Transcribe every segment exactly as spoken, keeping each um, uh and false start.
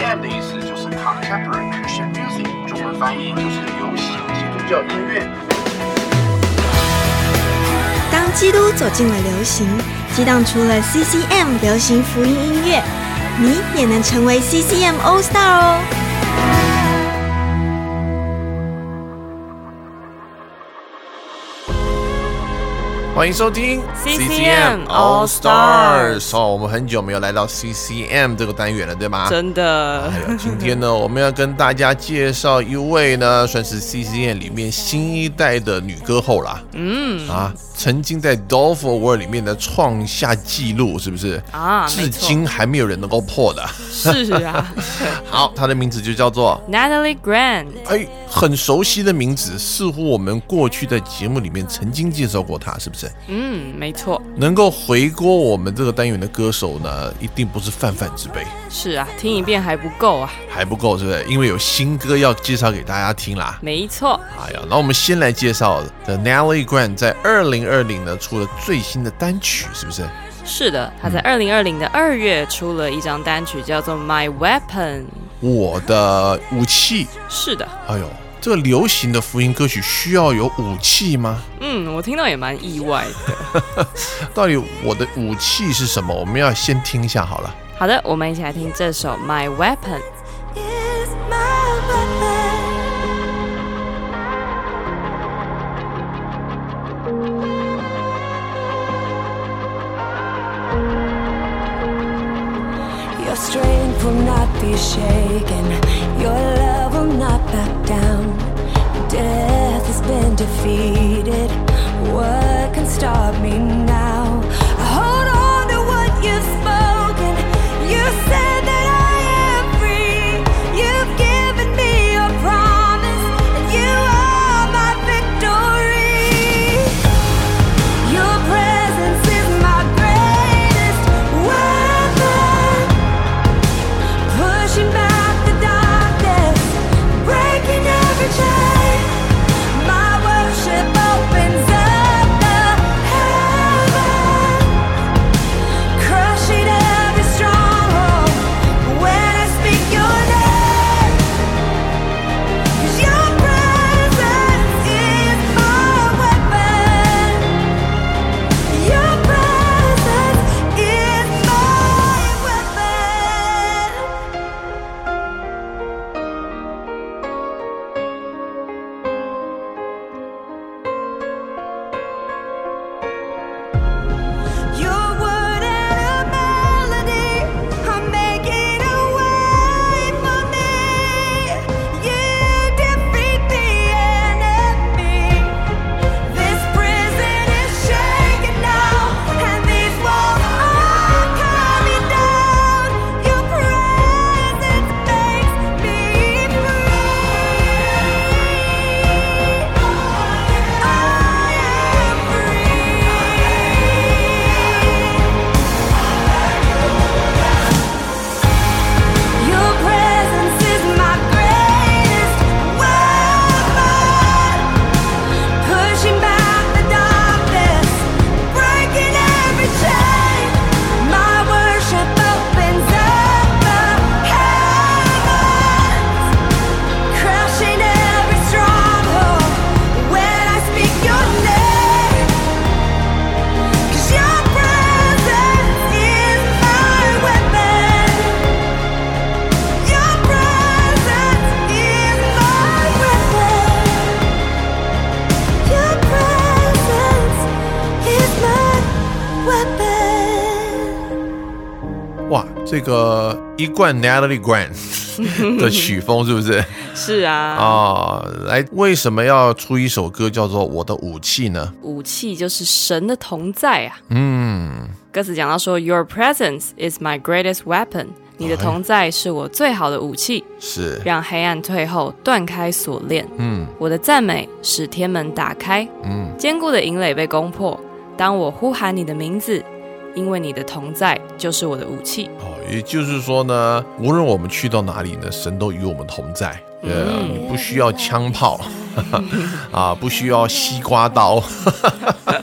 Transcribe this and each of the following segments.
M 的意思就是 Contemporary Christian Music， 中文翻译就是流行基督教音乐。 当基督走进了流行，激荡出了 C C M 流行福音音乐，你也能成为 C C M All Star 哦。 欢迎收听 C C M All Stars。 哦，我们很久没有来到 C C M 这个单元了，对吗？ 真的。 哎呀，今天呢，我们要跟大家介绍一位呢，算是 C C M 里面新一代的女歌后啦。嗯啊，曾经在 Dolph Award 里面的创下纪录，是不是？ 啊， 至今还没有人能够破的。 是啊。 好，她的名字就叫做 Natalie Grant。 哎，很熟悉的名字，似乎我们过去在节目里面曾经介绍过她，是不是？ 嗯，没错。 能够回锅我们这个单元的歌手呢，一定不是泛泛之辈。 是啊，听一遍还不够啊， 还不够，是不是？因为有新歌要介绍给大家听啦。 没错。 哎呀，那我们先来介绍的 Natalie Grant 在二零二零呢出了最新的单曲，是不是？ 是的，他在二零二零的二月出了一张单曲，叫做 My Weapon， 我的武器。 是的。 哎呦，这个流行的福音歌曲需要有武器吗？ 嗯，我听到也蛮意外的。 到底我的武器是什么？我们要先听一下好了。 好的，我们一起来听这首 My Weapon。Your strength will not be shaken. Your love will not back down. Death has been defeated. What can stop me now? I hold on to what you've spoken. You said that I am free. You've given me your promise, and you are my victory. Your presence is my greatest weapon. Pushing back the darkness, breaking every chain. My worship opens up the heaven, crushing every stronghold when I speak your name. 'Cause your presence is my weapon. Your presence is my weapon. Your word and a melody are making a way for me. You defeat the enemy. This prison is shaking now, and these walls are coming down. Your presence makes me free. I am free. Your presence is my greatest weapon, pushing back the darkness, breaking every chain. My worship opens up the heavens, crushing every stronghold when I speak your name. 'Cause your presence is my weapon. Your presence is my weapon. Your presence is my weapon. 哇，这个一贯 Natalie Grant 的曲风是不是？ 是啊。 啊，来，为什么要出一首歌叫做《我的武器》呢？ 武器就是神的同在啊。 嗯， 歌词讲到说 Your presence is my greatest weapon， 你的同在是我最好的武器， 是让黑暗退后，断开锁链。 嗯我的赞美使天门打开， 嗯， 坚固的营垒被攻破。当我呼喊你的名字，因为你的同在就是我的武器。 哦，也就是说呢，无论我们去到哪里呢，神都与我们同在。呃，你不需要枪炮啊，不需要西瓜刀，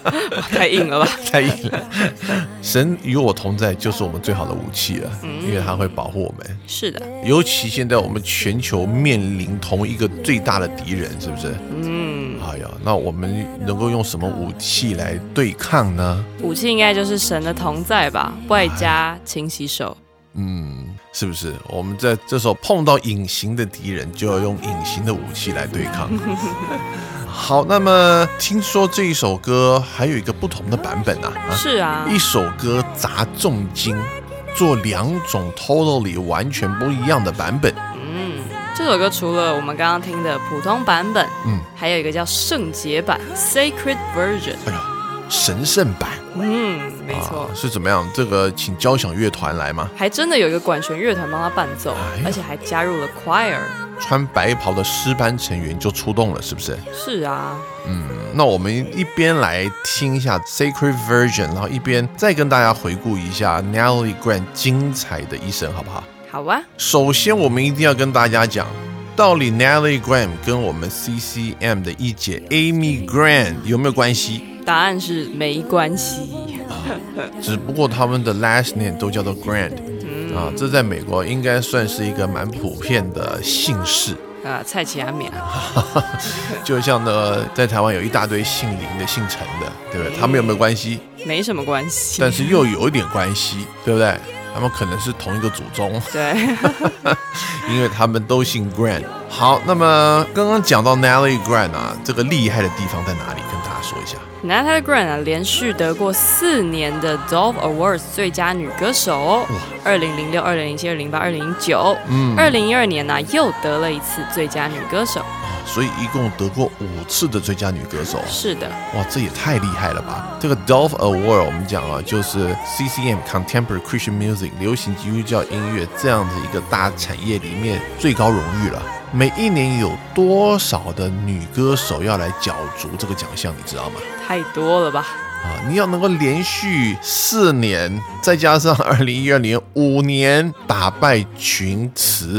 太硬了吧？ 太硬了。神与我同在就是我们最好的武器了，嗯、因为它会保护我们。 是的， 尤其现在我们全球面临同一个最大的敌人，是不是？嗯。哎呀，那我们能够用什么武器来对抗呢？ 武器应该就是神的同在吧，外加勤洗手。 嗯，是不是？我们在这时候碰到隐形的敌人，就要用隐形的武器来对抗。好，那么听说这一首歌还有一个不同的版本啊？ 是啊， 一首歌砸重金，做两种 totally 完全不一样的版本。 嗯，这首歌除了我们刚刚听的普通版本，嗯，还有一个叫圣洁版 （Sacred Version）。 哎呀，神圣版。 嗯，没错、 啊，是怎么样？这个请交响乐团来吗？ 还真的有一个管弦乐团帮他伴奏，哎、而且还加入了 choir。 穿白袍的诗班成员就出动了，是不是？ 是啊。 嗯，那我们一边来听一下 Sacred Version， 然后一边再跟大家回顾一下 Natalie Grant 精彩的一生，好不好？ 好啊。 首先，我们一定要跟大家讲，到底 Natalie Grant 跟我们 C C M 的一姐 Amy Grant 有没有关系？ 答案是没关系， 只不过他们的 last name 都叫做 Grant，、嗯、啊，这在美国应该算是一个蛮普遍的姓氏啊，蔡奇阿米就像呢，在台湾有一大堆姓林的、姓陈的，对不对？他们有没有关系？ 没什么关系， 但是又有一点关系，对不对？他们可能是同一个祖宗， 对， 因为他们都姓 Grant。好，那么刚刚讲到 Natalie Grant 啊，这个厉害的地方在哪里？跟大家说一下。 Natalie Grant 啊，连续得过四年的 Dove Awards 最佳女歌手哦，二零零六、二零零七、二零零八、二零零九，嗯，二零一二年呢、啊、又得了一次最佳女歌手。 所以一共得过五次的最佳女歌手。 是的， 哇，这也太厉害了吧！这个 Dove Award 我们讲啊，就是 C C M Contemporary Christian Music 流行基督教音乐这样子一个大产业里面最高荣誉了。每一年有多少的女歌手要来角逐这个奖项，你知道吗？ 太多了吧！ 啊，你要能够连续四年，再加上二零一二年五年打败群雌。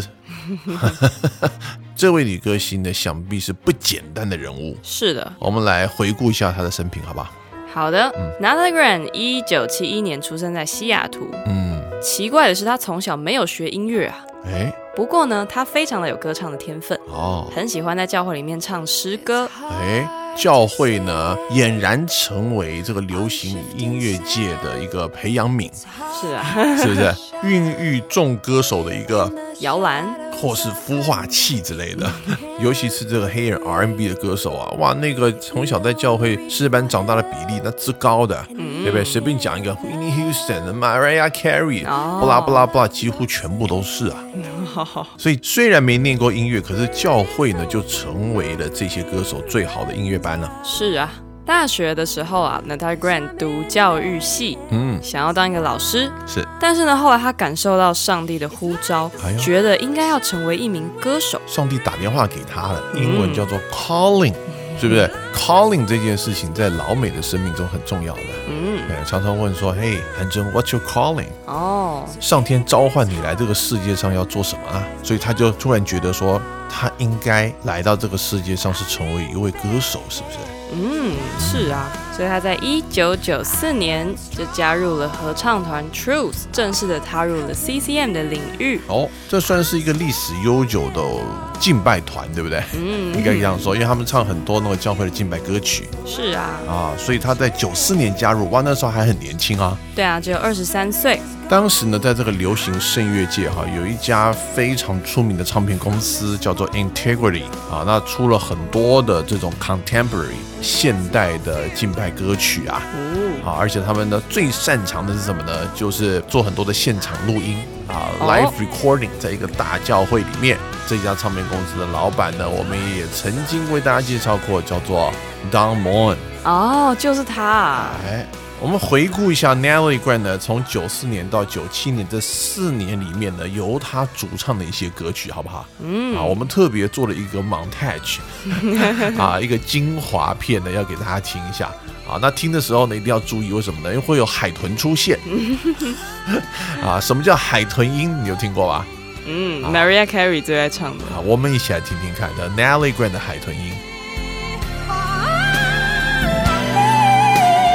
这位女歌星呢，想必是不简单的人物。 是的， 我们来回顾一下她的生平，好不好？ 好的。嗯、Natalie Grant 一九七一年出生在西雅图。嗯，奇怪的是，她从小没有学音乐啊。哎，不过呢，她非常的有歌唱的天分。哦，很喜欢在教会里面唱诗歌。哎。教会呢，俨然成为这个流行音乐界的一个培养皿， 是啊， 是不是孕育众歌手的一个摇篮，或是孵化器之类的？尤其是这个黑人 R and B 的歌手啊，哇，那个从小在教会诗班长大的比例那之高的，嗯、对不对？随便讲一个 Whitney Houston、Mariah Carey， 不啦不啦不啦，几乎全部都是啊。所以虽然没念过音乐，可是教会呢就成为了这些歌手最好的音乐班了。 是啊，大学的时候啊 Natalie Grant 读教育系，嗯，想要当一个老师，是。但是呢，后来他感受到上帝的呼召，哎、觉得应该要成为一名歌手。 上帝打电话给他了，英文叫做 calling，、嗯、是不是 ？calling 这件事情在老美的生命中很重要的。嗯，常常问说，嘿，韩真 ，What's your calling？ 哦，上天召唤你来这个世界上要做什么啊？所以他就突然觉得说，他应该来到这个世界上是成为一位歌手，是不是？ 嗯，是啊，所以他在一九九四年就加入了合唱团 Truth， 正式的踏入了 C C M 的领域。哦， 这算是一个历史悠久的敬拜团，对不对？嗯，应该这样说，因为他们唱很多那个教会的敬拜歌曲。 是啊， 啊，所以他在九四年加入，哇，那时候还很年轻啊。 对啊，只有二十三岁。 当时呢，在这个流行声乐界哈，有一家非常出名的唱片公司叫做 Integrity 啊，那出了很多的这种 contemporary 现代的敬拜歌曲啊，啊，而且他们呢最擅长的是什么呢？就是做很多的现场录音啊 ，live recording， 在一个大教会里面。这家唱片公司的老板呢，我们也曾经为大家介绍过，叫做 Don Moen。 哦，就是他。 哎。我们回顾一下 Natalie Grant 呢，从九四年到九七年这四年里面呢，由他主唱的一些歌曲，好不好？嗯，啊，我们特别做了一个 montage， 啊，一个精华片呢，要给大家听一下。啊，那听的时候呢，一定要注意，为什么呢？因为会有海豚出现。啊，什么叫海豚音？你有听过吧？ 嗯、啊、，Mariah Carey 最爱唱的。 啊，我们一起来听听看的 Natalie Grant 的海豚音。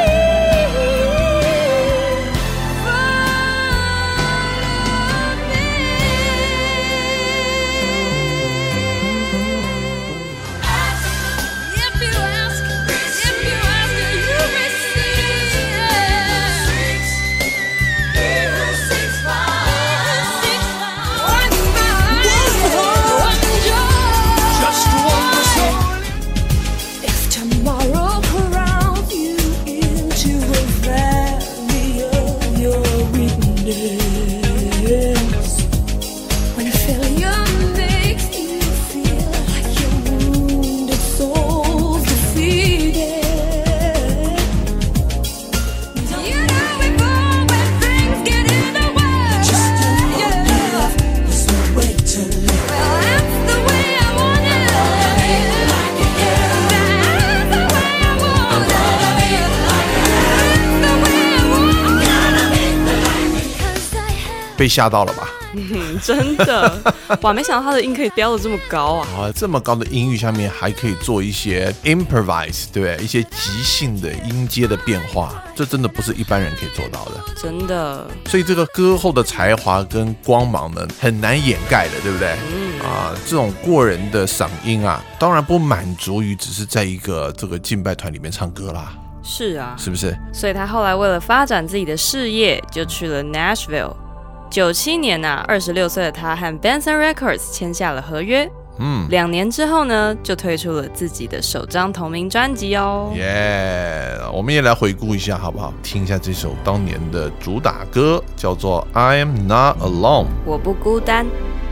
被吓到了吧？ 嗯，真的，哇，没想到他的音可以飙得这么高啊！ 啊，这么高的音域下面还可以做一些 improvise， 对不对？一些即兴的音阶的变化，这真的不是一般人可以做到的， 真的。 所以这个歌后的才华跟光芒呢，很难掩盖的，对不对？嗯啊，这种过人的嗓音啊，当然不满足于只是在一个这个敬拜团里面唱歌啦。 是啊， 是不是？ 所以他后来为了发展自己的事业，就去了 Nashville。九七年啊，二十六岁的他和 Benson Records 签下了合约。嗯，两年之后呢，就推出了自己的首张同名专辑哦。 耶、yeah, 我们也来回顾一下好不好？听一下这首当年的主打歌，叫做 I Am Not Alone， 我不孤单。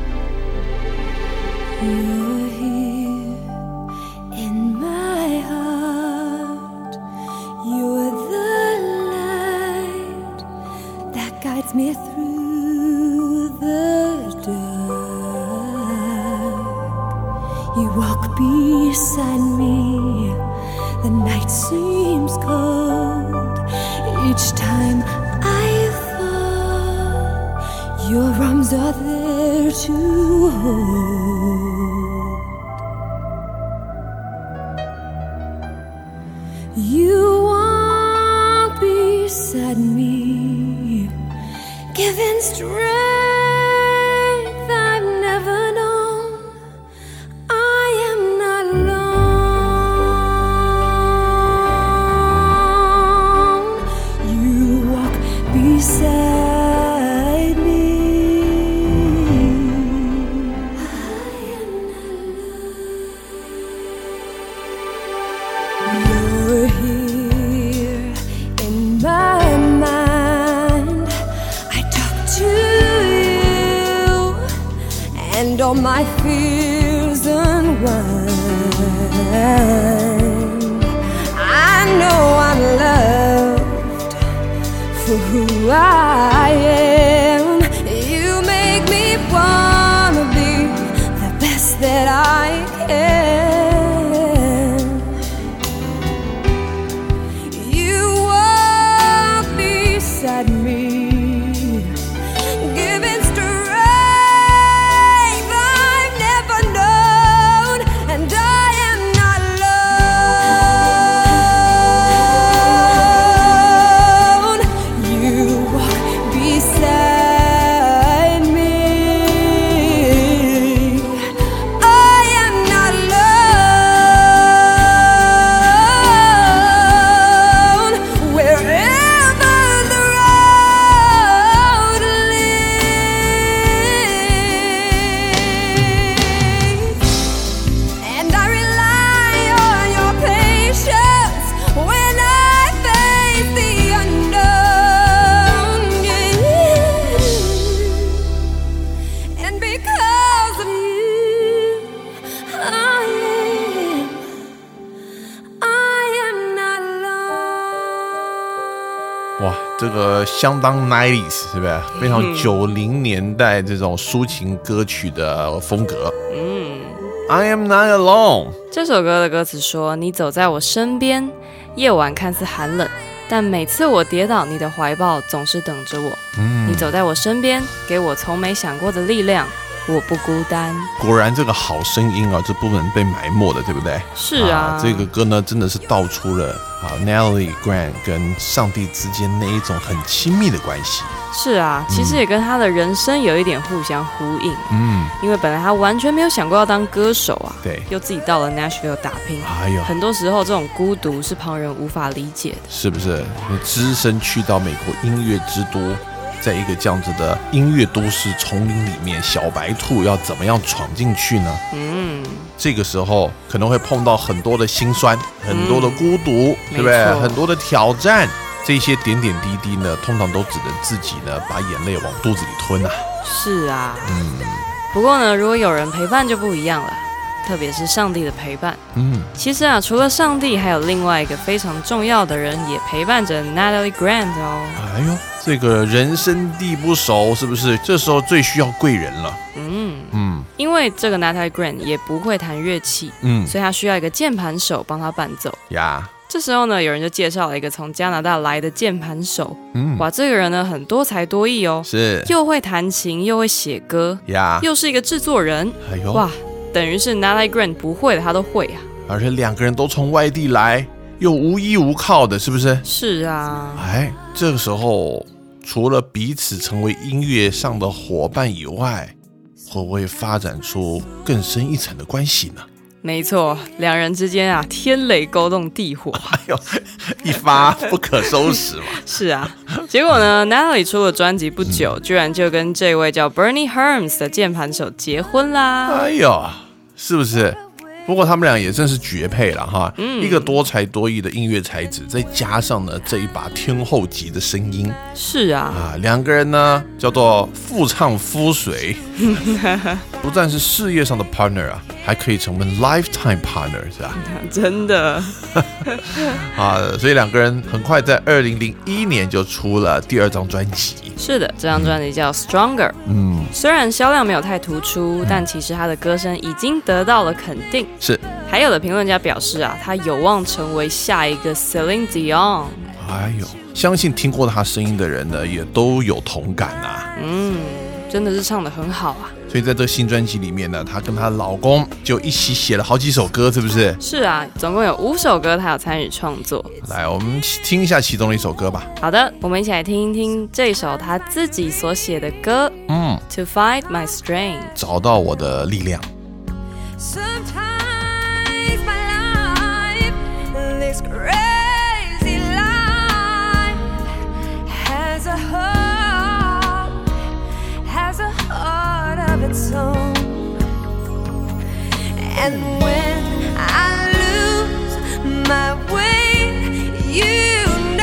Me through the dark, you walk beside me. The night seems cold. Each time I fall, your arms are there to hold. You walk beside me, giving strength I've never known. I am not alone. You walk beside me. I am not alone. You're here in my mind. And all my fears unwind. I know I'm loved for who I am. You make me wanna be the best that I can. You walk beside me, giving strength 这个相当 nineties 是不是？非常九零年代这种抒情歌曲的风格。嗯 ，I am not alone 这首歌的歌词说：“你走在我身边，夜晚看似寒冷，但每次我跌倒，你的怀抱总是等着我。嗯，你走在我身边，给我从没想过的力量。”我不孤单。 果然这个好声音啊，这不能被埋没的，对不对？ 是啊， 啊这个歌呢，真的是道出了啊 Natalie Grant 跟上帝之间那一种很亲密的关系。 是啊，其实也跟他的人生有一点互相呼应。嗯，因为本来他完全没有想过要当歌手啊， 对， 又自己到了 Nashville 打拼。 哎呦， 很多时候这种孤独是旁人无法理解的， 是不是？你只身去到美国音乐之都。在一个这样子的音乐都市丛林里面，小白兔要怎么样闯进去呢？嗯，这个时候可能会碰到很多的辛酸，很多的孤独，嗯、对不对？很多的挑战，这些点点滴滴呢，通常都只能自己呢把眼泪往肚子里吞啊。 是啊，嗯。不过呢，如果有人陪伴就不一样了。特别是上帝的陪伴。嗯，其实啊，除了上帝，还有另外一个非常重要的人也陪伴着 Natalie Grant 哦。 哎呦，这个人生地不熟，是不是？这时候最需要贵人了。 嗯嗯，因为这个 Natalie Grant 也不会弹乐器，嗯，所以他需要一个键盘手帮他伴奏。 呀， 这时候呢，有人就介绍了一个从加拿大来的键盘手。嗯，哇，这个人呢很多才多艺哦， 是又会弹琴，又会写歌呀，又是一个制作人。哎呦，哇，等于是 Natalie Grant 不会的他都会啊。 而且两个人都从外地来，又无依无靠的，是不是？ 是啊。 哎，这个时候除了彼此成为音乐上的伙伴以外，会不会发展出更深一层的关系呢？ 没错，两人之间啊，天雷勾动地火， 哎呦，一发不可收拾嘛。 是啊，结果呢 ，Natalie 出了专辑不久，嗯、居然就跟这位叫 Bernie Herms 的键盘手结婚啦。 哎呦，是不是？不过他们俩也真是绝配了哈，嗯、一个多才多艺的音乐才子，再加上呢这一把天后级的声音， 是啊， 啊两个人呢叫做夫唱妇随，不但是事业上的 partner 啊，还可以成为 lifetime partner 是吧？ 真的啊，所以两个人很快在二零零一年就出了第二张专辑。 是的，这张专辑叫 Stronger。嗯，虽然销量没有太突出，嗯、但其实他的歌声已经得到了肯定。 是， 还有的评论家表示啊，他有望成为下一个 Celine Dion。 哎呦，相信听过他声音的人呢，也都有同感啊。 嗯，真的是唱得很好啊。 所以在这新专辑里面呢，她跟她老公就一起写了好几首歌，是不是？ 是啊，总共有五首歌，她有参与创作。 来，我们听一下其中的一首歌吧。 好的，我们一起来听一听这首她自己所写的歌。嗯 ，To Find My Strength， 找到我的力量。 Sometimes my life this crazy life has a heart, has a heart of its own. And when I lose my way, you know,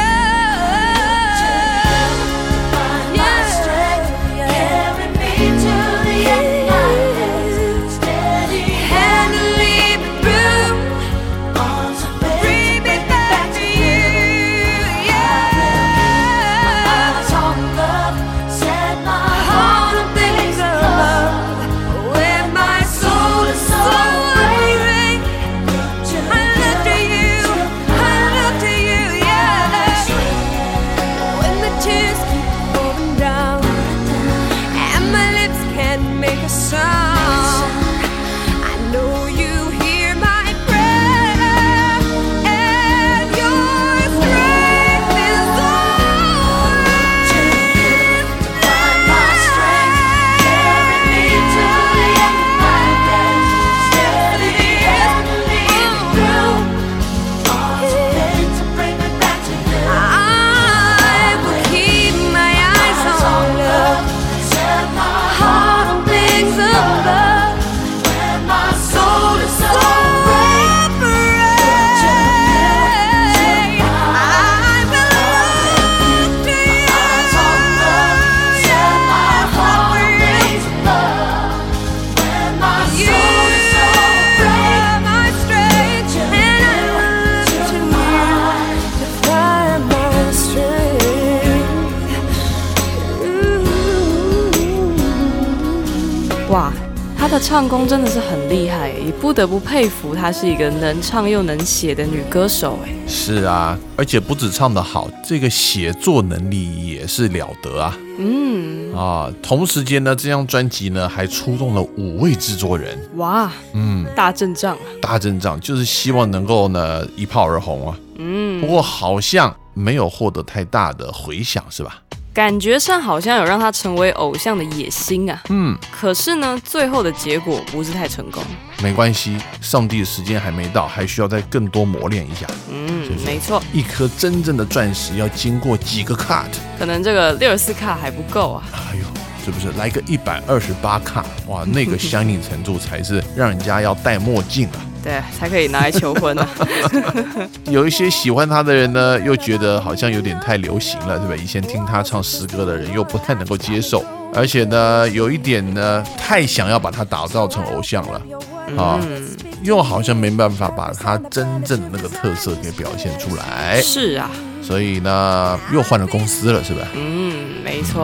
yeah, carry me to the end, steady and lead me through, bring me back to you, yeah. My tongue love, set my heart on things of love, where my soul is so weary. I look to you, I look to you, yeah. When the tears keep falling down and my lips can't make a sound, I know you hear my prayer and your strength is all to find my strength, carry me to the end of my days, steady and lead me through all the things that bring me back to you. I will keep my eyes on love, set my heart on things of love, where my soul is so afraid. I will look to you, set my heart on things of love, where my soul is so afraid. My strength, and I look to you to find my strength. Ooh. 哇，她的唱功真的是很厉害，也不得不佩服她是一个能唱又能写的女歌手哎。 是啊，而且不止唱得好，这个写作能力也是了得啊。嗯啊，同时间呢，这张专辑呢还出动了五位制作人。 哇，嗯，大阵仗啊！ 大阵仗就是希望能够呢一炮而红啊。嗯，不过好像没有获得太大的回响，是吧？ 感觉上好像有让他成为偶像的野心啊。嗯，可是呢，最后的结果不是太成功。 没关系，上帝的时间还没到，还需要再更多磨练一下。 嗯，没错， 一颗真正的钻石要经过几个 cut， 可能这个六十四 cut 还不够啊。 哎呦，是不是来个一百二十八 cut？ 哇，那个相应程度才是让人家要戴墨镜啊。 对，才可以拿来求婚啊。 有一些喜欢他的人呢，又觉得好像有点太流行了，对不对？以前听他唱诗歌的人又不太能够接受，而且呢，有一点呢，太想要把他打造成偶像了。啊、嗯，又好像没办法把他真正的那个特色给表现出来。 是啊， 所以呢，又换了公司了，是吧？ 嗯，没错。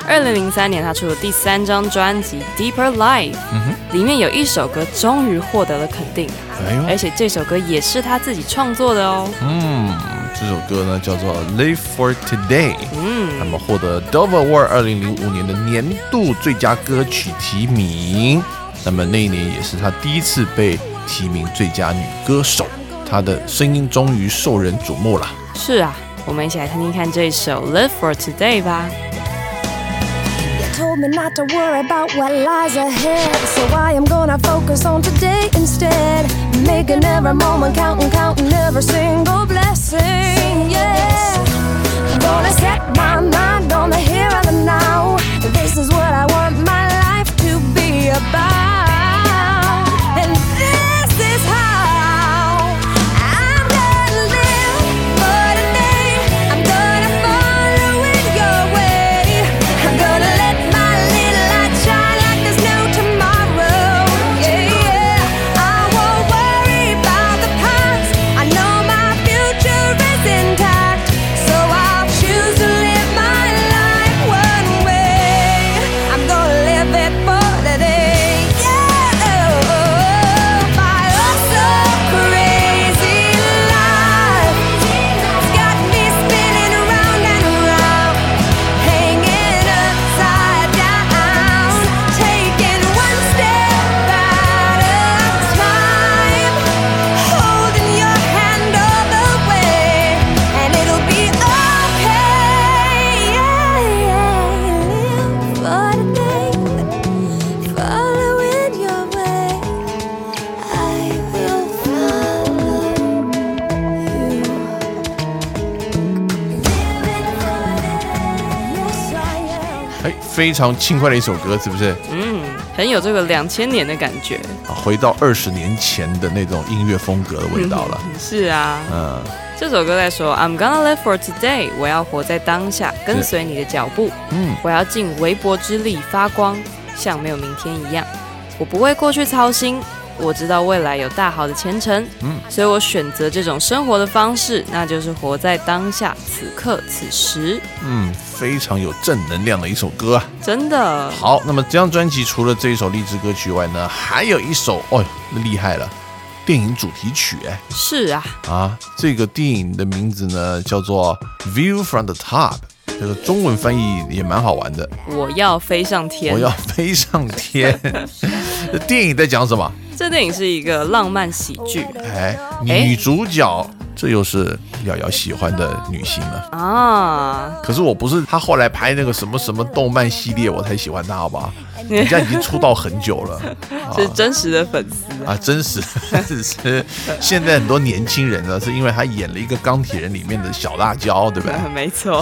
二零零三年他出了第三张专辑 Deeper Life，嗯、里面有一首歌终于获得了肯定，哎、而且这首歌也是他自己创作的哦。嗯， 这首歌呢叫做 Live for Today， 嗯，那么获得 Dove Award 二零零五年的年度最佳歌曲提名，那么那一年也是他第一次被提名最佳女歌手，她的声音终于受人瞩目了。 是啊，我们一起来听听看这首 Live for Today 吧。 Told me not to worry about what lies ahead, so I am gonna focus on today instead, making every moment count and counting every single blessing. Yeah, I'm gonna set my mind on the here and the now. This is what I want my life to be about, and this is how I'm gonna live for today. I'm gonna follow in your way. I'm gonna let 非常轻快的一首歌，是不是？ 嗯，很有这个两千年的感觉， 回到二十年前的那种音乐风格的味道了。 嗯、是啊，嗯，这首歌在说 I'm gonna live for today， 我要活在当下，跟随你的脚步。嗯，我要尽微薄之力发光，像没有明天一样。我不为过去操心。我知道未来有大好的前程，嗯，所以我选择这种生活的方式，那就是活在当下，此刻此时。嗯， 非常有正能量的一首歌啊， 真的。 好，那么这张专辑除了这一首励志歌曲外呢，还有一首，哦，那厉害了，电影主题曲，哎， 是啊， 啊，这个电影的名字呢叫做 View from the Top。这个中文翻译也蛮好玩的， 我要飞上天， 我要飞上天。这电影在讲什么？ 这电影是一个浪漫喜剧， 哎，女主角这又是瑶瑶喜欢的女星了啊。可是我不是她后来拍那个什么什么动漫系列我才喜欢她，好不好？人家已经出道很久了， 是真实的粉丝啊，真实只是现在很多年轻人呢，是因为她演了一个钢铁人里面的小辣椒，对不对？ 没错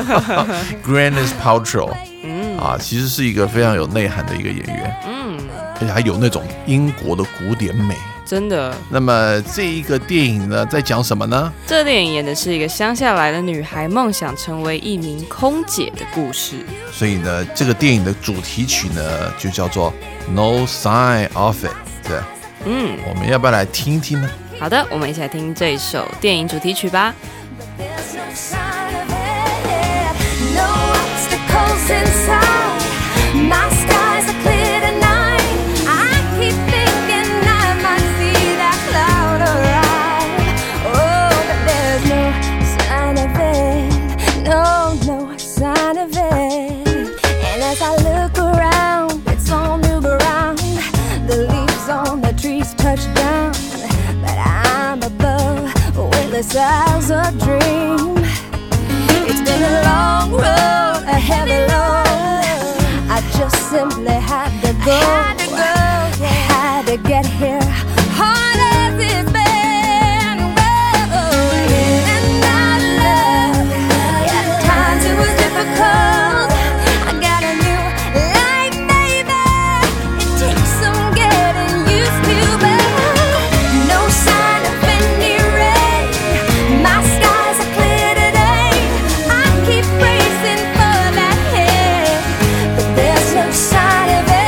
，Gwyneth Paltrow，嗯啊，其实是一个非常有内涵的一个演员，嗯，而且还有那种英国的古典美。 真的。 那么这一个电影呢，在讲什么呢？ 这电影演的是一个乡下来的女孩梦想成为一名空姐的故事。 所以呢，这个电影的主题曲呢，就叫做 No Sign of It。对，嗯，我们要不要来听听呢？ 好的，我们一起来听这一首电影主题曲吧。 As a dream, it's been a long road, a heavy load. I just simply had to go, had to, go, yeah. had to get here. Hard as it's been, oh, yeah. And I love, yeah, at times it was difficult. I got a new life, baby. It takes some getting used to, but no sign of any rain. My skies are clear today. I keep racing for that head, but there's no sign of it.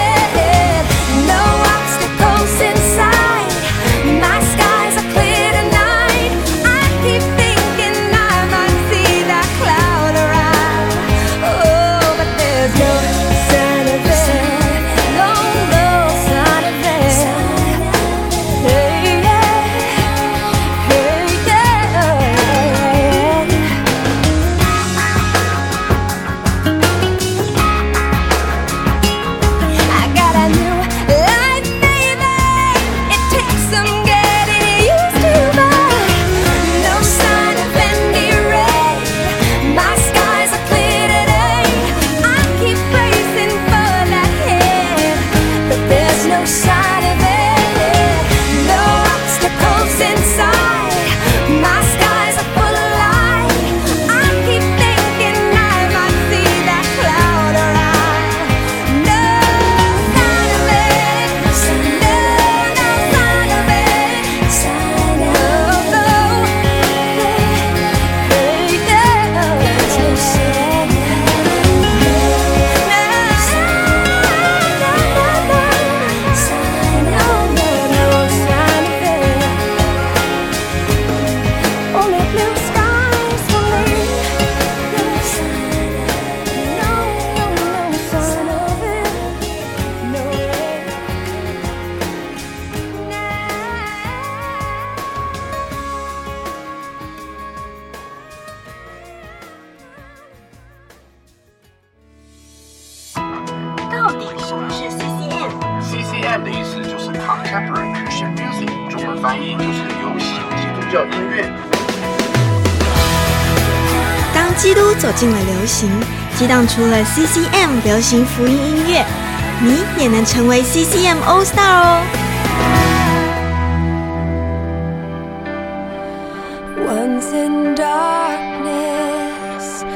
M 的意思就是 Contemporary Christian Music， 中文翻译就是流行基督教音乐。 当基督走进了流行，激荡出了 C C M 流行福音音乐，你也能成为 C C M All Star 哦。 Once in darkness,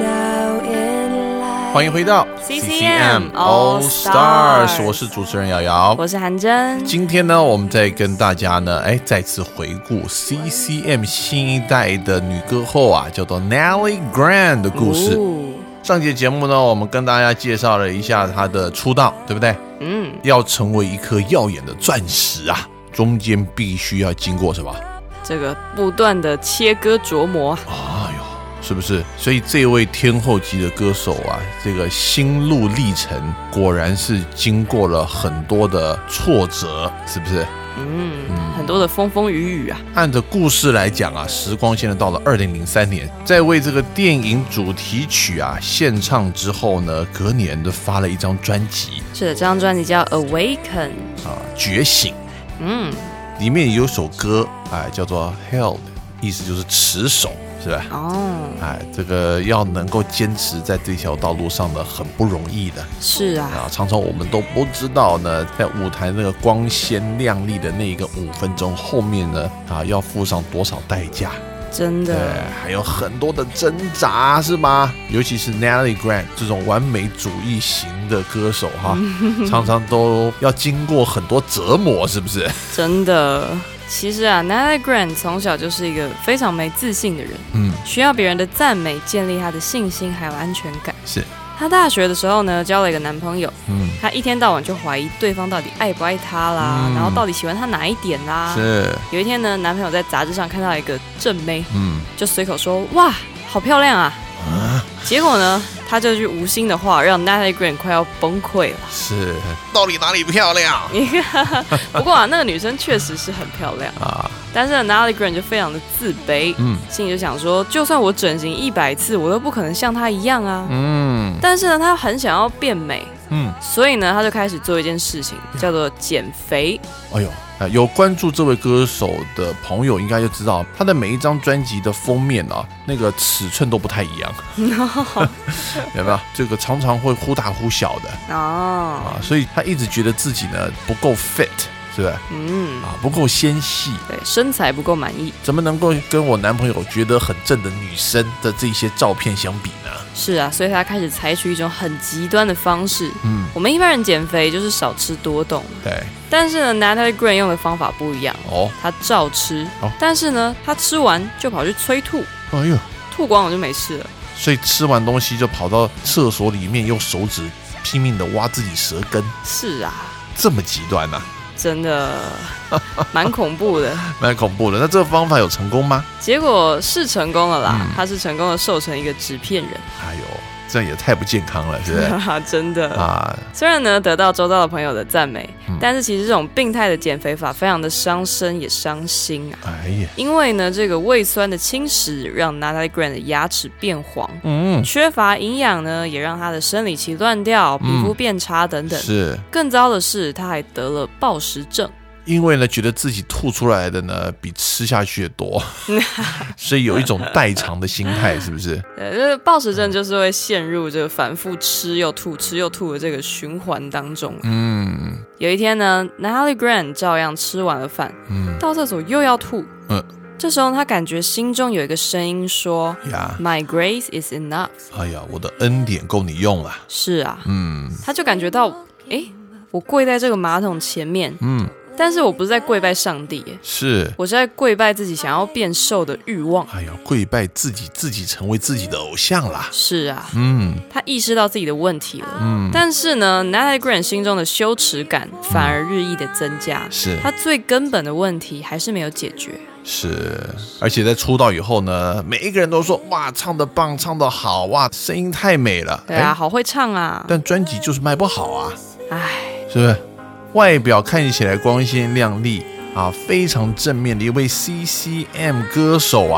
now in light。 欢迎回到 C C M All Stars， 我是主持人瑶瑶， 我是韩真。 今天呢，我们再跟大家呢，哎，再次回顾 C C M 新一代的女歌后啊，叫做 Natalie Grant 的故事。哦、上节节目呢，我们跟大家介绍了一下她的出道，对不对？嗯，要成为一颗耀眼的钻石啊，中间必须要经过什么？ 这个不断的切割琢磨。 哎呦，是不是？所以这位天后级的歌手啊，这个心路历程果然是经过了很多的挫折，是不是？ 嗯，嗯很多的风风雨雨啊。 按着故事来讲啊，时光现在到了二零零三年，在为这个电影主题曲啊献唱之后呢，隔年就发了一张专辑。 是的，这张专辑叫 Awaken 啊，觉醒。 嗯。 里面有首歌，哎，叫做 Held， 意思就是持守，是吧？哦，哎，这个要能够坚持在这条道路上的很不容易的。 是啊， 啊，常常我们都不知道呢，在舞台那个光鲜亮丽的那一个五分钟后面呢，啊，要付上多少代价。 真的， 对，还有很多的挣扎，是吗？尤其是 Natalie Grant 这种完美主义型的歌手哈，常常都要经过很多折磨，是不是？ 真的，其实啊 ，Natalie Grant 从小就是一个非常没自信的人，嗯，需要别人的赞美建立他的信心还有安全感。 是。 她大学的时候呢，交了一个男朋友，嗯，她一天到晚就怀疑对方到底爱不爱她啦，嗯、然后到底喜欢她哪一点啦。 是。有一天呢，男朋友在杂志上看到一个正妹，嗯，就随口说：“哇，好漂亮啊！”啊结果呢，他这句无心的话让 Natalie Grant 快要崩溃了。 是，到底哪里漂亮？ 不过啊，那个女生确实是很漂亮啊。但是 Natalie Grant 就非常的自卑，嗯，心里就想说，就算我整形一百次，我都不可能像她一样啊。嗯，但是呢，她很想要变美，嗯，所以呢，她就开始做一件事情，叫做减肥。哎呦。有关注这位歌手的朋友应该就知道，他的每一张专辑的封面啊，那个尺寸都不太一样，有没有？这个常常会忽大忽小的哦，啊，所以他一直觉得自己呢不够 fit， 是不是？嗯，啊，不够纤细，对，身材不够满意，怎么能够跟我男朋友觉得很正的女生的这些照片相比呢？是啊，所以他开始采取一种很极端的方式。嗯，我们一般人减肥就是少吃多动，对。但是呢 ，Natalie Grant 用的方法不一样哦，他照吃，哦、但是呢，他吃完就跑去催吐，哎呦，吐光了就没事了。所以吃完东西就跑到厕所里面，用手指拼命的挖自己舌根。是啊，这么极端啊！真的蛮恐怖的，蛮恐怖的。那这个方法有成功吗？结果是成功了啦，嗯、他是成功的瘦成一个纸片人。哎呦，这样也太不健康了，是不是？真的啊！虽然呢得到周遭的朋友的赞美，嗯、但是其实这种病态的减肥法非常的伤身也伤心啊！哎呀，因为呢这个胃酸的侵蚀让 Natalie Grant 的牙齿变黄，嗯，缺乏营养呢也让她的生理期乱掉，皮肤变差等等。嗯、是，更糟的是她还得了暴食症。因为呢，觉得自己吐出来的呢比吃下去的多，所以有一种代偿的心态，是不是？对，就是暴食症就是会陷入这个反复吃又吐、吃又吐的这个循环当中。嗯，有一天呢 ，Natalie Grant 照样吃完了饭，嗯，到厕所又要吐，嗯。这时候他感觉心中有一个声音说 My grace is enough。 哎呀，我的恩典够你用了。是啊，嗯，他就感觉到，哎，我跪在这个马桶前面，嗯，但是我不是在跪拜上帝，是我是在跪拜自己想要变瘦的欲望。哎呀，跪拜自己，自己成为自己的偶像啦。是啊，嗯，他意识到自己的问题了，嗯，但是呢 Natalie Grant 心中的羞耻感反而日益的增加，是他最根本的问题还是没有解决。是，而且在出道以后呢，每一个人都说哇，唱得棒，唱得好，哇，声音太美了。对啊，好会唱啊。但专辑就是卖不好啊，哎，是不是？外表看起来光鲜亮丽啊，非常正面的一位 C C M 歌手啊，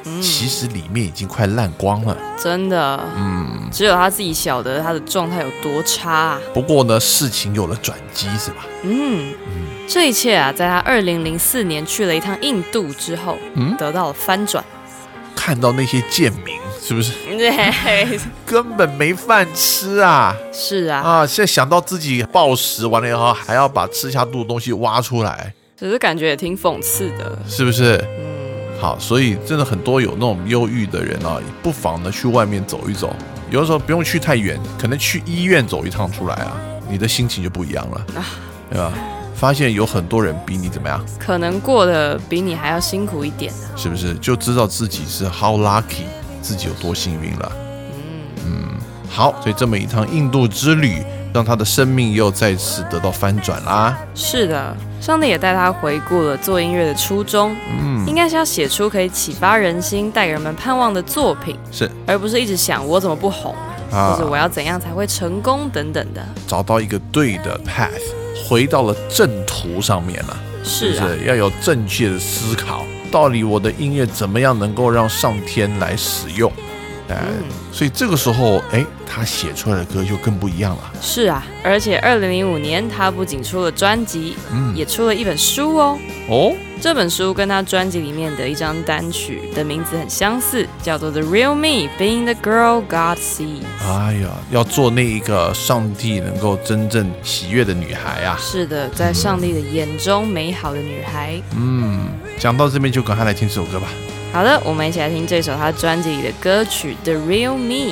嗯、其实里面已经快烂光了， 真的，嗯，只有他自己晓得他的状态有多差、啊。 不过呢，事情有了转机，是吧？ 嗯嗯，这一切啊，在他二零零四年去了一趟印度之后，嗯，得到了翻转。 看到那些贱民，是不是？ 对， 根本没饭吃啊！ 是啊， 啊，现在想到自己暴食完了以后，还要把吃下肚的东西挖出来， 只是感觉也挺讽刺的， 是不是？嗯，好，所以真的很多有那种忧郁的人啊，不妨呢去外面走一走，有的时候不用去太远，可能去医院走一趟出来啊，你的心情就不一样了，啊、对吧？发现有很多人比你怎么样？ 可能过得比你还要辛苦一点、啊、 是不是？就知道自己是 how lucky， 自己有多幸运了。嗯嗯，好，所以这么一趟印度之旅，让他的生命又再次得到翻转啦。 是的，上帝也带他回顾了做音乐的初衷，嗯，应该是要写出可以启发人心、带给人们盼望的作品， 是， 而不是一直想我怎么不红，啊、或者我要怎样才会成功等等的。 找到一个对的 path。回到了正途上面了， 是啊， 是要有正确的思考，到底我的音乐怎么样能够让上天来使用？嗯，所以这个时候，哎，他写出来的歌就更不一样了。 是啊，而且二零零五年他不仅出了专辑，嗯，也出了一本书哦。哦，这本书跟他专辑里面的一张单曲的名字很相似，叫做《The Real Me: Being the Girl God Sees》。 哎呀，要做那一个上帝能够真正喜悦的女孩啊！ 是的，在上帝的眼中美好的女孩。 嗯，讲到这边就赶快来听这首歌吧。 好的，我们一起来听这首他专辑里的歌曲《The Real Me》。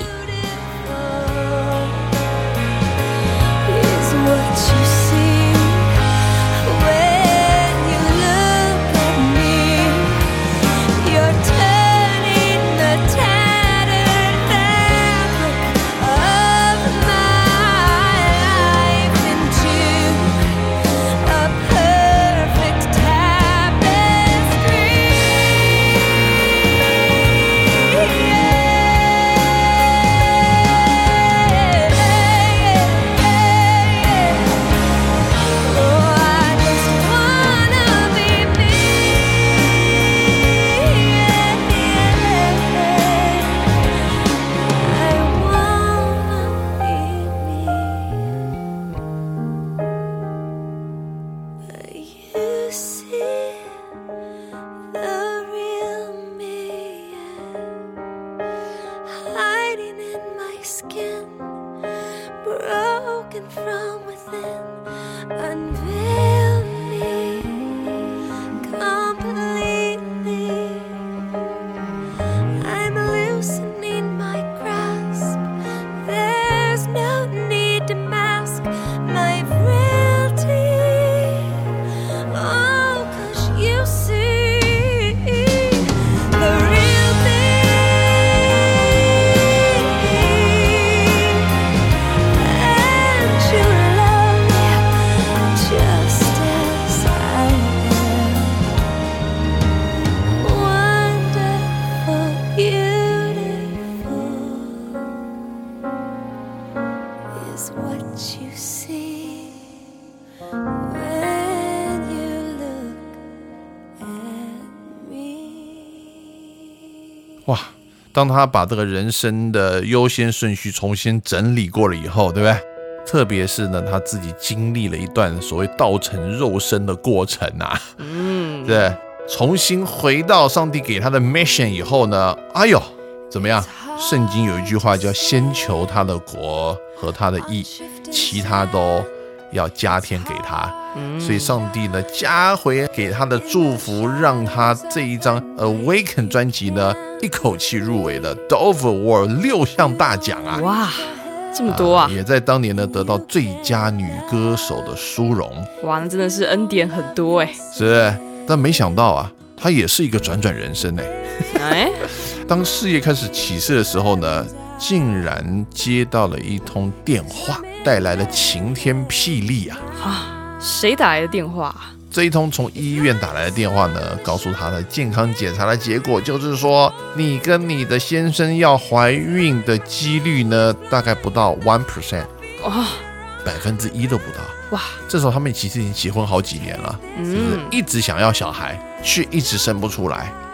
哇，当他把这个人生的优先顺序重新整理过了以后，对不对？特别是呢，他自己经历了一段所谓道成肉身的过程啊，嗯，对，重新回到上帝给他的 mission 以后呢，哎呦，怎么样？圣经有一句话叫先求他的国和他的义，其他都要加添给他。所以上帝呢加回给他的祝福，让他这一张 Awaken 专辑呢一口气入围了 Dove Award 六项大奖啊！ 哇，这么多啊！ 啊也在当年呢得到最佳女歌手的殊荣。 哇，那真的是恩典很多哎。 是，但没想到啊，他也是一个转转人生哎。哎，当事业开始起势的时候呢，竟然接到了一通电话，带来了晴天霹雳啊！啊， 谁打来的电话？ 这一通从医院打来的电话呢，告诉他的健康检查的结果就是说，你跟你的先生要怀孕的几率呢，大概不到 百分之一， 哇，百分之一都不到。哇，这时候他们其实已经结婚好几年了，嗯，是不是一直想要小孩，却一直生不出来啊？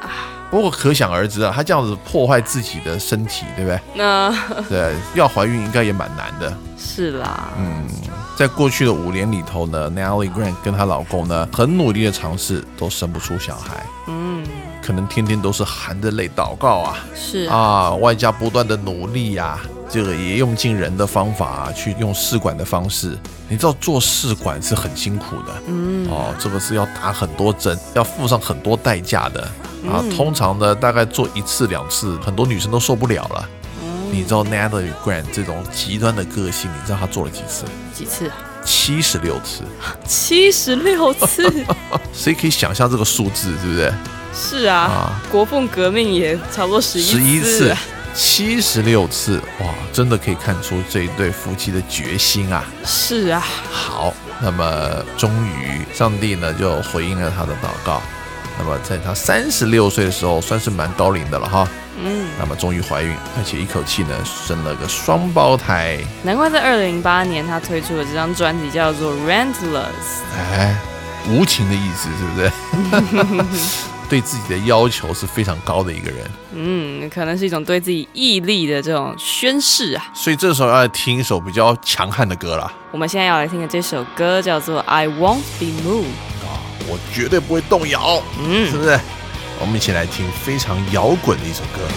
不过可想而知啊，她这样子破坏自己的身体，对不对？ 那对，要怀孕应该也蛮难的。 是啦， 嗯，在过去的五年里头呢 ，Natalie Grant 跟她老公呢，很努力的尝试，都生不出小孩。嗯，可能天天都是含着泪祷告啊， 是啊，外加不断的努力呀、啊，这个也用尽人的方法、啊、去用试管的方式。你知道做试管是很辛苦的，嗯，哦，这个是要打很多针，要付上很多代价的啊。嗯、通常呢，大概做一次两次，很多女生都受不了了。你知道 Natalie Grant 这种极端的个性，你知道她做了几次？ 几次？ 七十六次。 七十六次？ 谁可以想象这个数字，对不对？ 是啊，啊国父革命也差不多十一次。十一次， 七十六次，哇，真的可以看出这一对夫妻的决心啊！ 是啊。 好，那么终于上帝呢就回应了他的祷告。那么在他三十六岁的时候，算是蛮高龄的了哈。嗯，那么终于怀孕，而且一口气呢生了个双胞胎。 难怪在二零零八年他推出的这张专辑叫做《Relentless》。 哎，无情的意思是不是？对自己的要求是非常高的一个人。 嗯，可能是一种对自己毅力的这种宣示啊。 所以这时候要来听一首比较强悍的歌啦。 我们现在要来听的这首歌叫做《I Won't Be Moved》。 我绝对不会动摇，嗯，是不是？我们一起来听非常摇滚的一首歌。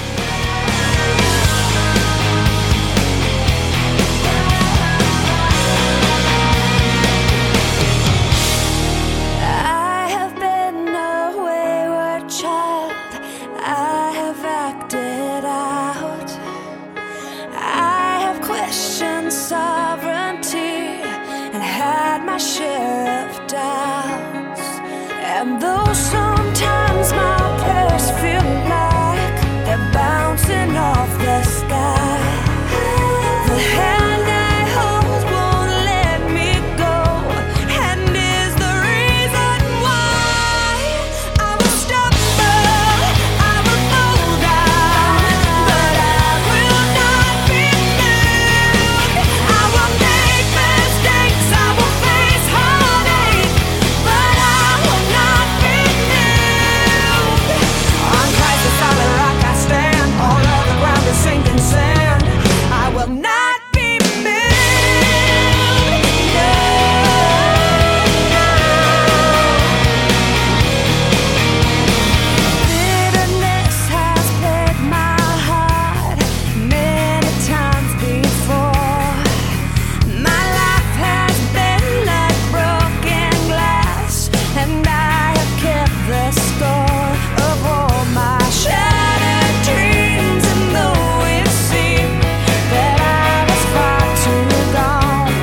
And though sometimes my prayers feel like they're bouncing off the sky, the hand I hold won't let me go, and is the reason why I will stumble, I will fall down, but I will not be moved. I will make mistakes, I will face heartache, but I will not be moved. On Christ the solid rock I stand, all of the ground is sinking sand. I will not be moved. No, no. Bitterness has plagued my heart many times before. My life has been like broken glass, and I have kept the score of all my shattered dreams. And though it seemed that I was far too gone,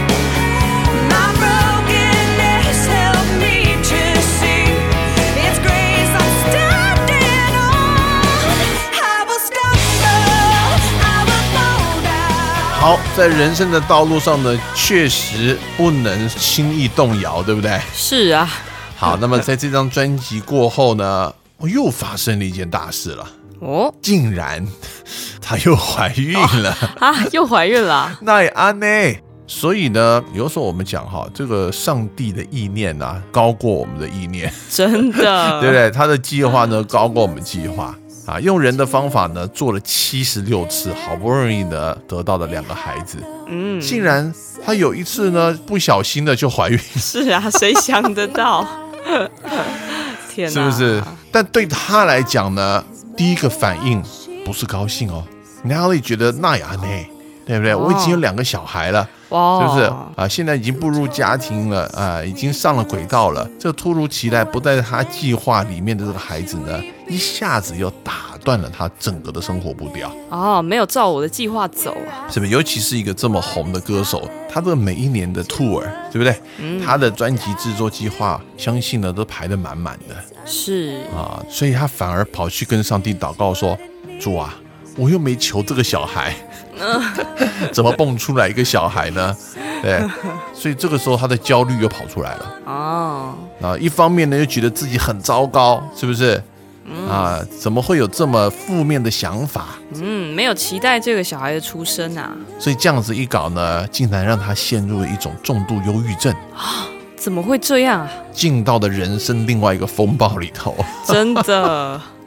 my brokenness helped me to see its grace I'm standing on. I will stumble, I will fall down. 好，在人生的道路上呢，确实不能轻易动摇，对不对？ 是啊。 好，那么在这张专辑过后呢，又发生了一件大事了。 哦， 竟然她又怀孕了、 哦、啊！又怀孕了， 那也安呢。所以呢，有时候我们讲哈，这个上帝的意念啊，高过我们的意念， 真的， 对不对？他的计划呢，高过我们计划啊。用人的方法呢，做了七十六次，好不容易呢得到了两个孩子，嗯，竟然他有一次呢，不小心的就怀孕。 是啊，谁想得到？天哪， 是不是？但对他来讲呢，第一个反应不是高兴哦。Natalie 觉得那呀呢，对不对？我已经有两个小孩了， 哇， 是不是啊？现在已经步入家庭了啊，已经上了轨道了。这突如其来不在他计划里面的这个孩子呢，一下子又打断了他整个的生活步调。 哦，没有照我的计划走啊， 是不是？尤其是一个这么红的歌手，他这个每一年的 tour， 对不对？嗯，他的专辑制作计划，相信呢都排得满满的。 是啊，所以他反而跑去跟上帝祷告说：“主啊，我又没求这个小孩。”怎么蹦出来一个小孩呢？对，所以这个时候他的焦虑又跑出来了。哦，啊，一方面呢又觉得自己很糟糕，是不是？嗯、啊，怎么会有这么负面的想法？ 嗯，没有期待这个小孩的出生啊。 所以这样子一搞呢，竟然让他陷入了一种重度忧郁症。 怎么会这样啊？ 进到了人生另外一个风暴里头。 真的。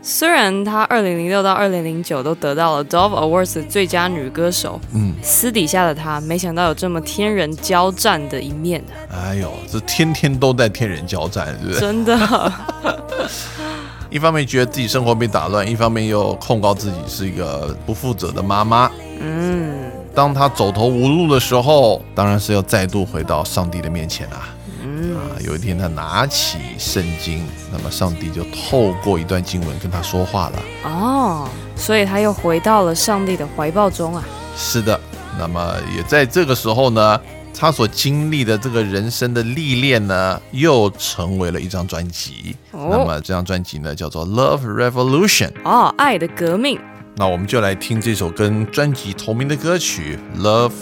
虽然她二零零六到二零零九都得到了 Dove Awards 的最佳女歌手，嗯，私底下的她没想到有这么天人交战的一面。 哎呦，这天天都在天人交战，是不是？ 真的。 一方面觉得自己生活被打乱，一方面又控告自己是一个不负责的妈妈。嗯，当她走投无路的时候，当然是要再度回到上帝的面前啊。嗯啊，有一天他拿起圣经，那么上帝就透过一段经文跟他说话了。 哦，所以他又回到了上帝的怀抱中啊。 是的，那么也在这个时候呢，他所经历的这个人生的历练呢，又成为了一张专辑。哦、那么这张专辑呢，叫做 Love Revolution。 哦，爱的革命。 那我们就来听这首跟专辑同名的歌曲 Love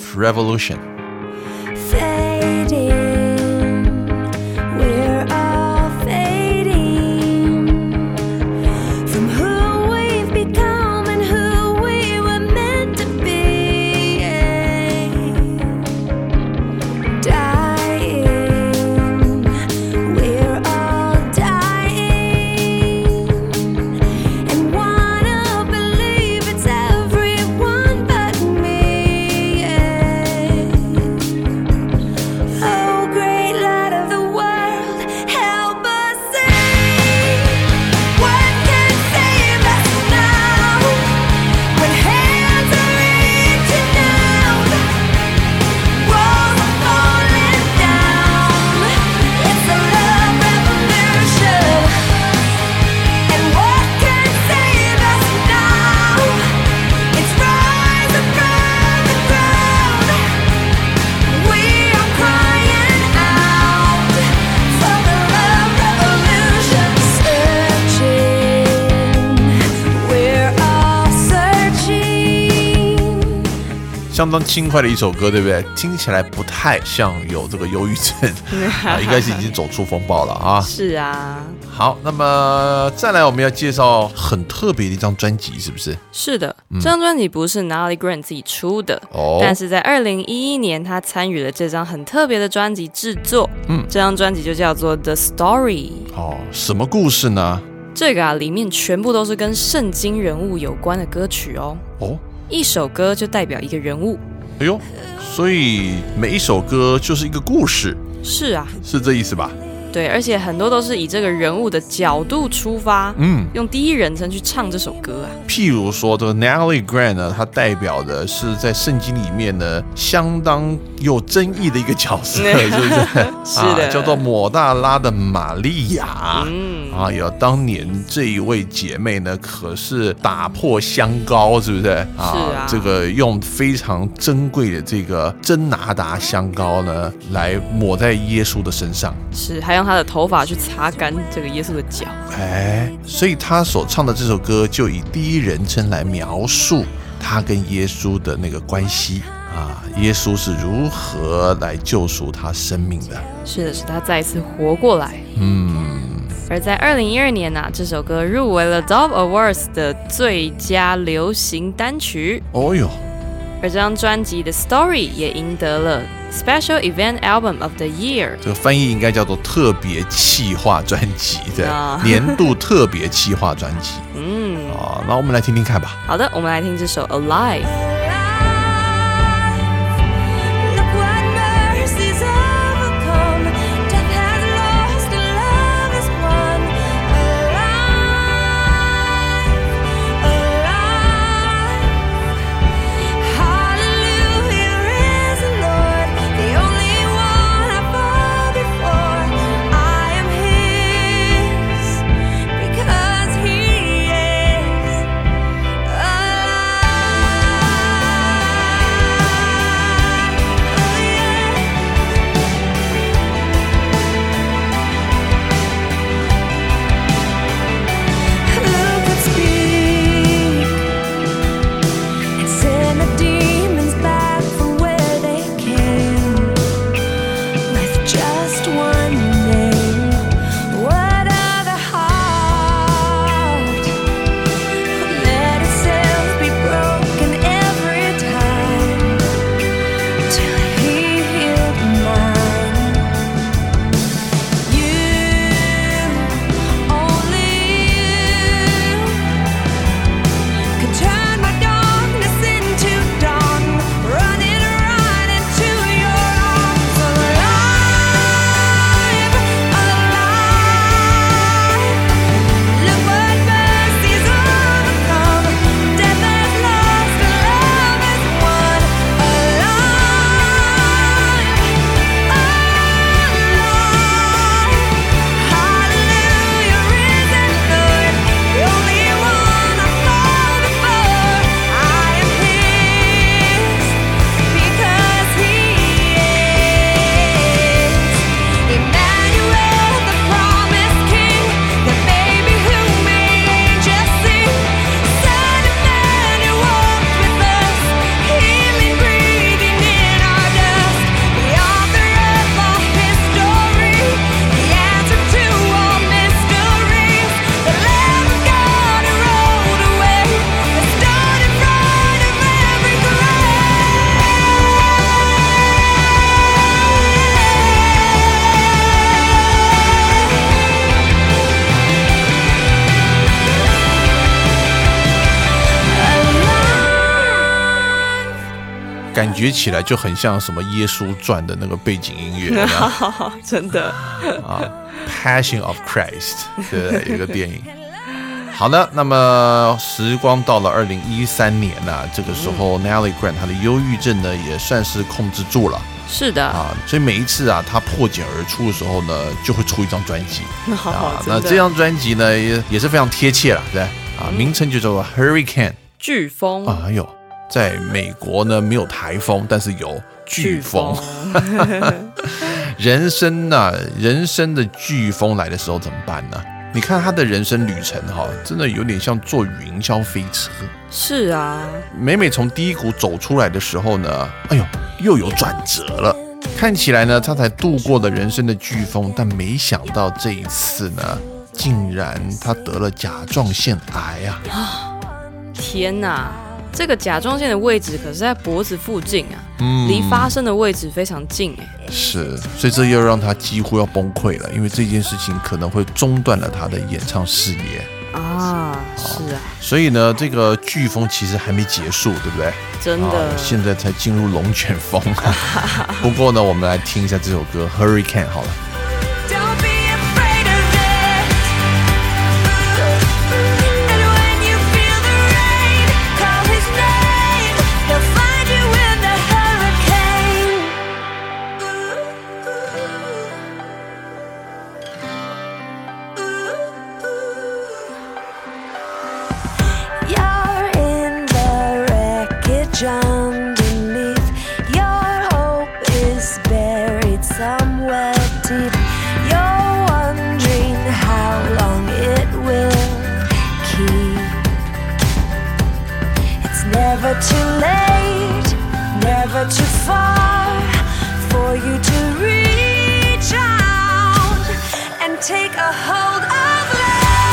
Revolution。相当轻快的一首歌，对不对？听起来不太像有这个忧郁症啊，应该是已经走出风暴了啊。 是啊。 好，那么再来我们要介绍很特别的一张专辑，是不是？ 是的，嗯、这张专辑不是 Natalie Grant 自己出的，哦、但是在二零一一年他参与了这张很特别的专辑制作。嗯，这张专辑就叫做 The Story。 哦，什么故事呢？ 这个啊，里面全部都是跟圣经人物有关的歌曲哦。哦。一首歌就代表一个人物。 哎呦，所以每一首歌就是一个故事。 是啊， 是这意思吧？ 对，而且很多都是以这个人物的角度出发，嗯，用第一人称去唱这首歌啊。 譬如说，这个 Natalie Grant 呢，它代表的是在圣经里面呢相当有争议的一个角色，是不是？ 是的、 啊，叫做抹大拉的玛利亚。嗯，啊，有当年这一位姐妹呢，可是打破香膏，是不是？啊， 是啊， 这个用非常珍贵的这个真拿达香膏呢，来抹在耶稣的身上。 是，还有。用他的头发去擦干这个耶稣的脚， 哎，所以他所唱的这首歌就以第一人称来描述他跟耶稣的那个关系啊，耶稣是如何来救赎他生命的。 是的，是他再一次活过来。嗯，而在二零一二年啊，这首歌入围了 Dove Awards 的最佳流行单曲。 哦哟， 而这张专辑的 Story 也赢得了Special Event Album of the Year， 这个翻译应该叫做特别企划专辑的、oh. 年度特别企划专辑。嗯，啊，那我们来听听看吧。 好的，我们来听这首 Alive。 觉起来就很像什么耶稣传的那个背景音乐真的啊 Passion of Christ 对，有一个电影。好的，那么时光到了二零一三年啊，这个时候 Natalie Grant 她的忧郁症呢也算是控制住了。 是的啊，所以每一次啊，她破茧而出的时候呢，就会出一张专辑。 啊， 那这张专辑呢也也是非常贴切了，对啊，名称就叫做 Hurricane 飓风。 啊，哎呦，在美国呢没有台风，但是有飓风。人生啊，人生的飓风来的时候怎么办呢？你看他的人生旅程哈，真的有点像坐云霄飞车。 是啊， 每每从低谷走出来的时候呢，哎呦，又有转折了。看起来呢，他才度过了人生的飓风，但没想到这一次呢，竟然他得了甲状腺癌啊！ 天哪！这个甲状腺的位置可是在脖子附近啊，嗯，离发生的位置非常近哎。 是，所以这又让他几乎要崩溃了，因为这件事情可能会中断了他的演唱事业啊。是啊， 所以呢，这个飓风其实还没结束，对不对？ 真的，啊、 现在才进入龙卷风。不过呢，我们来听一下这首歌《Hurricane》好了。 Underneath, your hope is buried somewhere deep. You're wondering how long it will keep. It's never too late, never too far for you to reach out and take a hold of love.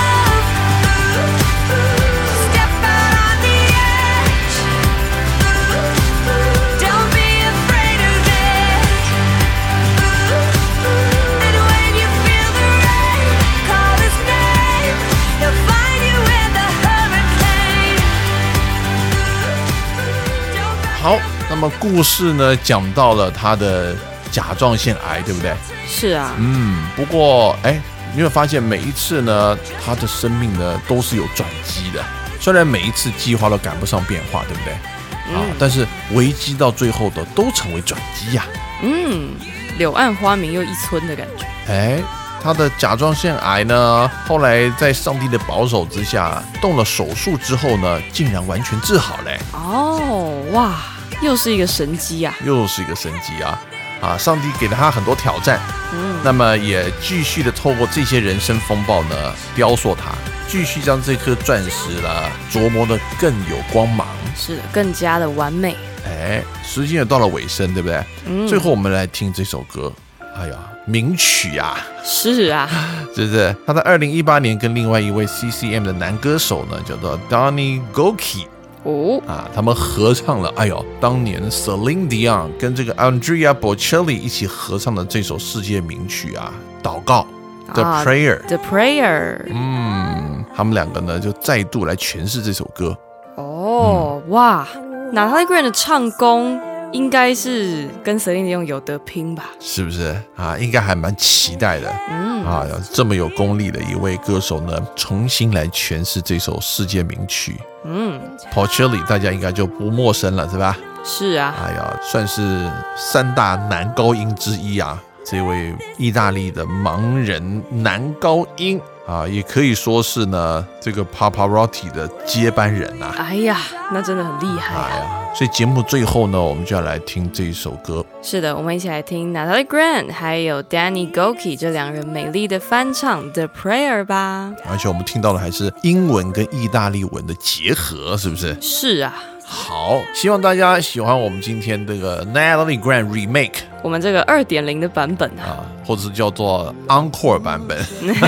好，那么故事呢讲到了他的甲状腺癌，对不对？ 是啊，嗯， 不过哎，你会发现每一次呢，他的生命呢都是有转机的。虽然每一次计划都赶不上变化，对不对？嗯、啊，但是危机到最后的都成为转机呀、啊。 嗯，柳暗花明又一村的感觉。 哎，他的甲状腺癌呢，后来在上帝的保守之下，动了手术之后呢，竟然完全治好嘞。 哦，哇！又是一个神迹啊！ 又是一个神迹啊！啊，上帝给了他很多挑战，嗯，那么也继续的透过这些人生风暴呢，雕塑他，继续将这颗钻石呢琢磨的更有光芒， 是的，更加的完美。 哎，时间也到了尾声，对不对？嗯，最后我们来听这首歌，哎呀，名曲啊！ 是啊， 是不是？他在二零一八年跟另外一位 C C M 的男歌手呢，叫做 Donnie Goki。哦啊，他们合唱了，哎呦，当年 Celine Dion 跟这个 Andrea Bocelli 一起合唱的这首世界名曲啊，祷告 The Prayer，The、 啊、Prayer， 嗯，他们两个呢就再度来诠释这首歌。 哦，嗯、哇 ，Natalie Grant 的唱功应该是跟 Celine Dion 有得拼吧？ 是不是啊？应该还蛮期待的。嗯啊，这么有功力的一位歌手呢，重新来诠释这首世界名曲。嗯 ，Bocelli 大家应该就不陌生了，是吧？ 是啊。 哎呀，算是三大男高音之一啊。这位意大利的盲人男高音啊，也可以说是呢这个 Pavarotti 的接班人啊。 哎呀，那真的很厉害啊！ 哎呀，所以节目最后呢，我们就要来听这一首歌。 是的，我们一起来听 Natalie Grant 还有 Danny Goki 这两人美丽的翻唱 The Prayer 吧。 而且我们听到的还是英文跟意大利文的结合，是不是？ 是啊。 好，希望大家喜欢我们今天这个 Natalie Grant Remake， 我们这个 二点零 的版本啊， 啊或者是叫做 Encore 版本。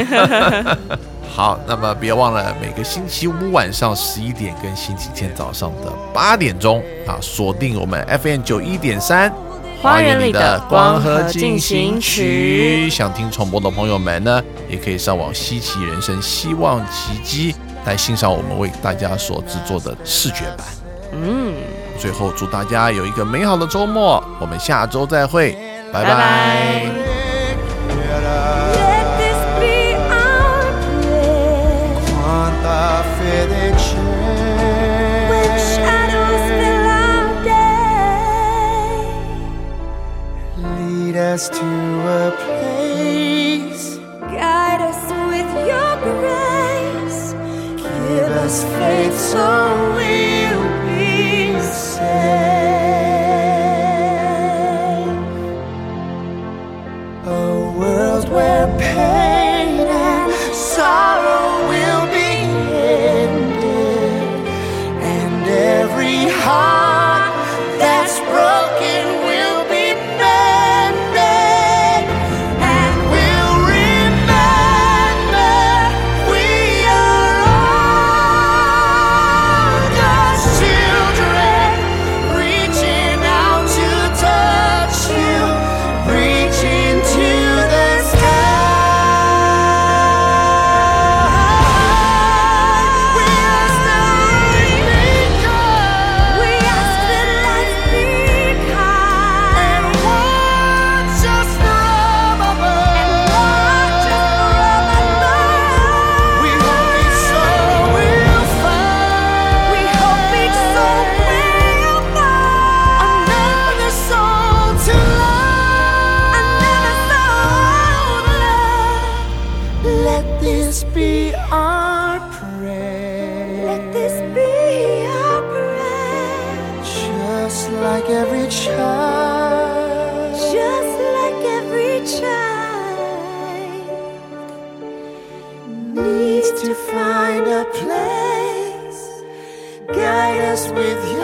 好，那么别忘了每个星期五晚上十一点跟星期天早上的八点钟啊，锁定我们 F M 九十一点三。 花园里的光合进行曲， 想听重播的朋友们呢，也可以上网稀奇人生希望奇迹来欣赏我们为大家所制作的视觉版。 嗯， 最后祝大家有一个美好的周末，我们下周再会，拜拜。拜拜。 Us to a place, guide us with your grace, give us faith so we'll be saved. A world where pain and sorrow will be ended, and every heart that's broken will be mended, and we'll remember we are all God's children, reaching out to touch you, reaching to the sky. We ask that life be kind. We ask that life be kind. And watch us from above. And watch us from above. We hope each soul will find. We hope each soul will find another soul to love. Another soul to love. Let this be our prayer. Let this be our prayer. Just like every child. Just like every child needs to find a place. Guide us with